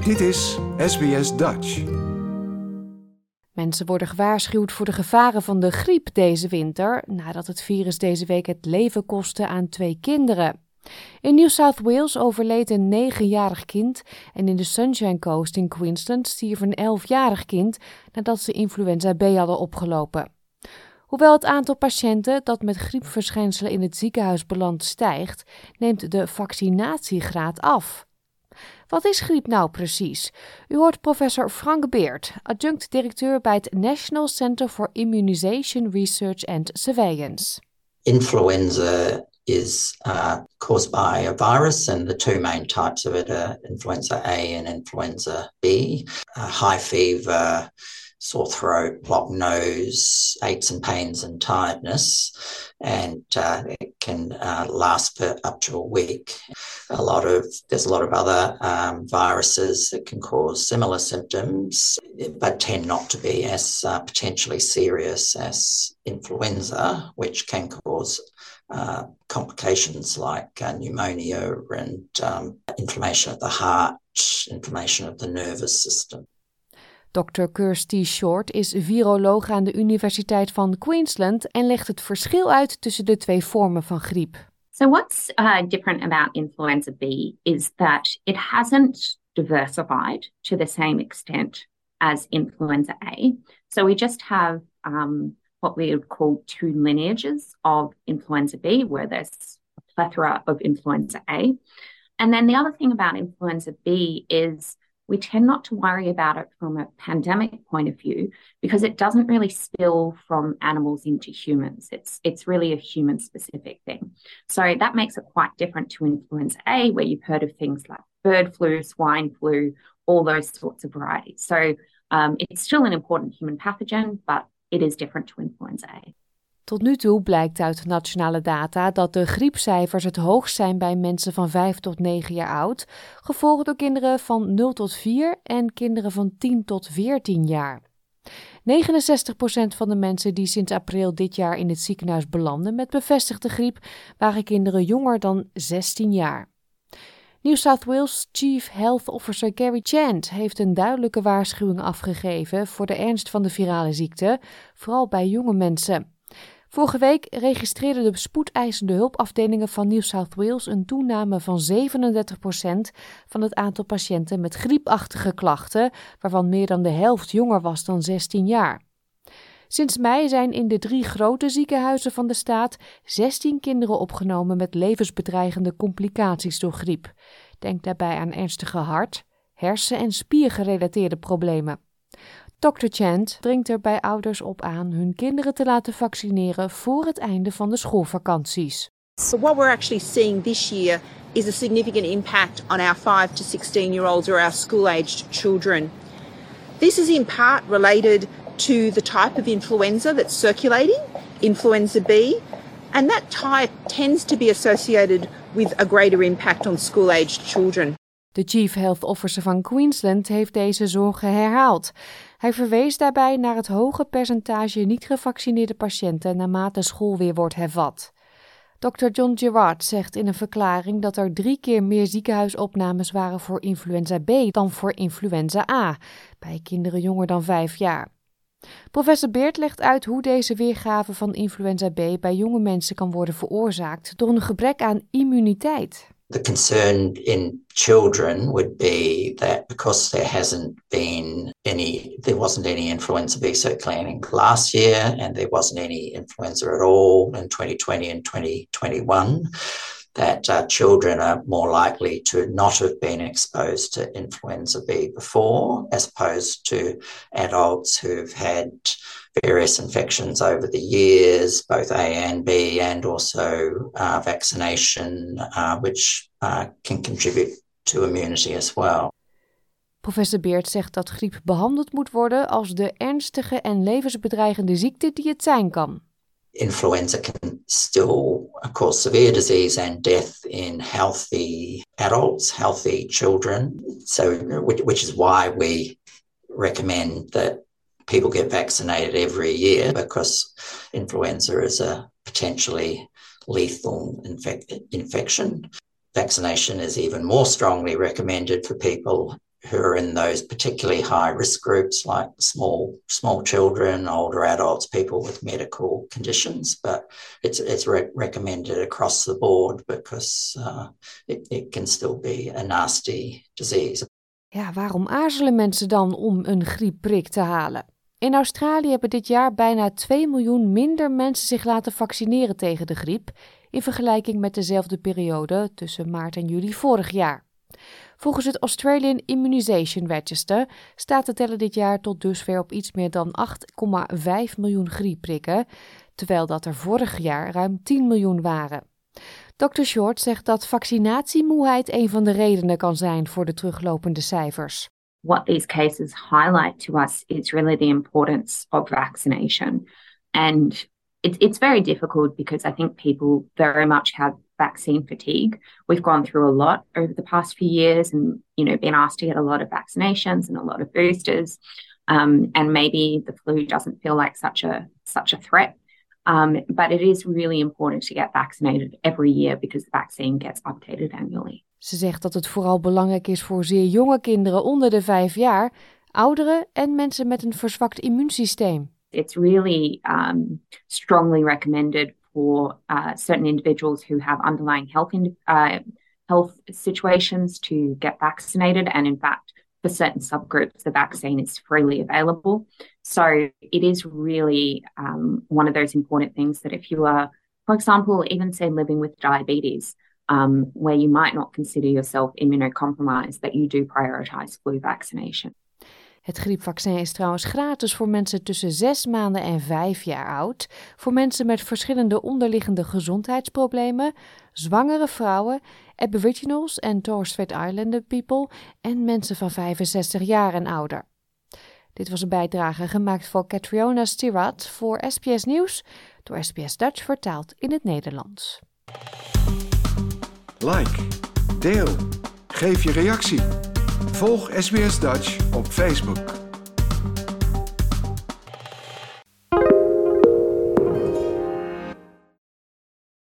Dit is SBS Dutch. Mensen worden gewaarschuwd voor de gevaren van de griep deze winter, nadat het virus deze week het leven kostte aan 2 kinderen. In New South Wales overleed een 9-jarig kind en in de Sunshine Coast in Queensland stierf een 11-jarig kind nadat ze influenza B hadden opgelopen. Hoewel het aantal patiënten dat met griepverschijnselen in het ziekenhuis belandt stijgt, neemt de vaccinatiegraad af. Wat is griep nou precies? U hoort professor Frank Beard, adjunct-directeur bij het National Centre for Immunization Research and Surveillance. Influenza is caused by a virus, and the 2 main types of it are influenza A and influenza B. High fever, sore throat, blocked nose, aches and pains and tiredness, and it can last for up to a week. There's a lot of other viruses that can cause similar symptoms, but tend not to be as potentially serious as influenza, which can cause complications like pneumonia and inflammation of the heart, inflammation of the nervous system. Dr. Kirsty Short is viroloog aan de Universiteit van Queensland en legt het verschil uit tussen de 2 vormen van griep. So what's different about influenza B is that it hasn't diversified to the same extent as influenza A. So we just have what we would call 2 lineages of influenza B, where there's a plethora of influenza A. And then the other thing about influenza B is we tend not to worry about it from a pandemic point of view because it doesn't really spill from animals into humans. It's really a human-specific thing. So that makes it quite different to influenza A, where you've heard of things like bird flu, swine flu, all those sorts of varieties. So it's still an important human pathogen, but it is different to influenza A. Tot nu toe blijkt uit nationale data dat de griepcijfers het hoogst zijn bij mensen van 5 tot 9 jaar oud, gevolgd door kinderen van 0 tot 4 en kinderen van 10 tot 14 jaar. 69% van de mensen die sinds april dit jaar in het ziekenhuis belanden met bevestigde griep waren kinderen jonger dan 16 jaar. New South Wales Chief Health Officer Gary Chant heeft een duidelijke waarschuwing afgegeven voor de ernst van de virale ziekte, vooral bij jonge mensen. Vorige week registreerden de spoedeisende hulpafdelingen van New South Wales een toename van 37% van het aantal patiënten met griepachtige klachten, waarvan meer dan de helft jonger was dan 16 jaar. Sinds mei zijn in de 3 grote ziekenhuizen van de staat 16 kinderen opgenomen met levensbedreigende complicaties door griep. Denk daarbij aan ernstige hart-, hersen- en spiergerelateerde problemen. Dr. Chant dringt er bij ouders op aan hun kinderen te laten vaccineren voor het einde van de schoolvakanties. So what we're actually seeing this year is a significant impact on our 5 to 16-year-olds or our school-aged children. This is in part related to the type of influenza that's circulating, influenza B, and that type tends to be associated with a greater impact on school-aged children. De Chief Health Officer van Queensland heeft deze zorgen herhaald. Hij verwees daarbij naar het hoge percentage niet gevaccineerde patiënten naarmate school weer wordt hervat. Dr. John Gerard zegt in een verklaring dat er 3 keer meer ziekenhuisopnames waren voor influenza B dan voor influenza A, bij kinderen jonger dan 5 jaar. Professor Beard legt uit hoe deze weergave van influenza B bij jonge mensen kan worden veroorzaakt door een gebrek aan immuniteit. The concern in children would be that because there wasn't any influenza B circulating last year and there wasn't any influenza at all in 2020 and 2021, that children are more likely to not have been exposed to influenza B before, as opposed to adults who've had various infections over the years, both A and B, and also vaccination, which can contribute to immunity as well. Professor Beard zegt dat griep behandeld moet worden als de ernstige en levensbedreigende ziekte die het zijn kan. Influenza can still cause severe disease and death in healthy adults, healthy children. So, which is why we recommend that people get vaccinated every year, because influenza is a potentially lethal infection. Vaccination is even more strongly recommended for people who are in those particularly high risk groups like small children, older adults, people with medical conditions. But it's recommended across the board because it can still be a nasty disease. Ja, waarom aarzelen mensen dan om een griepprik te halen? In Australië hebben dit jaar bijna 2 miljoen minder mensen zich laten vaccineren tegen de griep in vergelijking met dezelfde periode tussen maart en juli vorig jaar. Volgens het Australian Immunisation Register staat de teller dit jaar tot dusver op iets meer dan 8,5 miljoen griepprikken, terwijl dat er vorig jaar ruim 10 miljoen waren. Dr. Short zegt dat vaccinatiemoeheid een van de redenen kan zijn voor de teruglopende cijfers. What these cases highlight to us is really the importance of vaccination. And it's very difficult because I think people very much have vaccine fatigue. We've gone through a lot over the past few years and, been asked to get a lot of vaccinations and a lot of boosters. And maybe the flu doesn't feel like such a threat. But it is really important to get vaccinated every year because the vaccine gets updated annually. Ze zegt dat het vooral belangrijk is voor zeer jonge kinderen onder de 5 jaar, ouderen en mensen met een verzwakt immuunsysteem. It's really strongly recommended for certain individuals who have underlying health situations to get vaccinated. And in fact, for certain subgroups, the vaccine is freely available. So it is really one of those important things that if you are, for example, even say living with diabetes, where you might not consider yourself immunocompromised, that you do prioritize flu vaccination. Het griepvaccin is trouwens gratis voor mensen tussen 6 maanden en 5 jaar oud, voor mensen met verschillende onderliggende gezondheidsproblemen, zwangere vrouwen, Aboriginals en Torres Strait Islander people en mensen van 65 jaar en ouder. Dit was een bijdrage gemaakt voor Catriona Stirat voor SBS Nieuws, door SBS Dutch vertaald in het Nederlands. Like, deel, geef je reactie. Volg SBS Dutch op Facebook.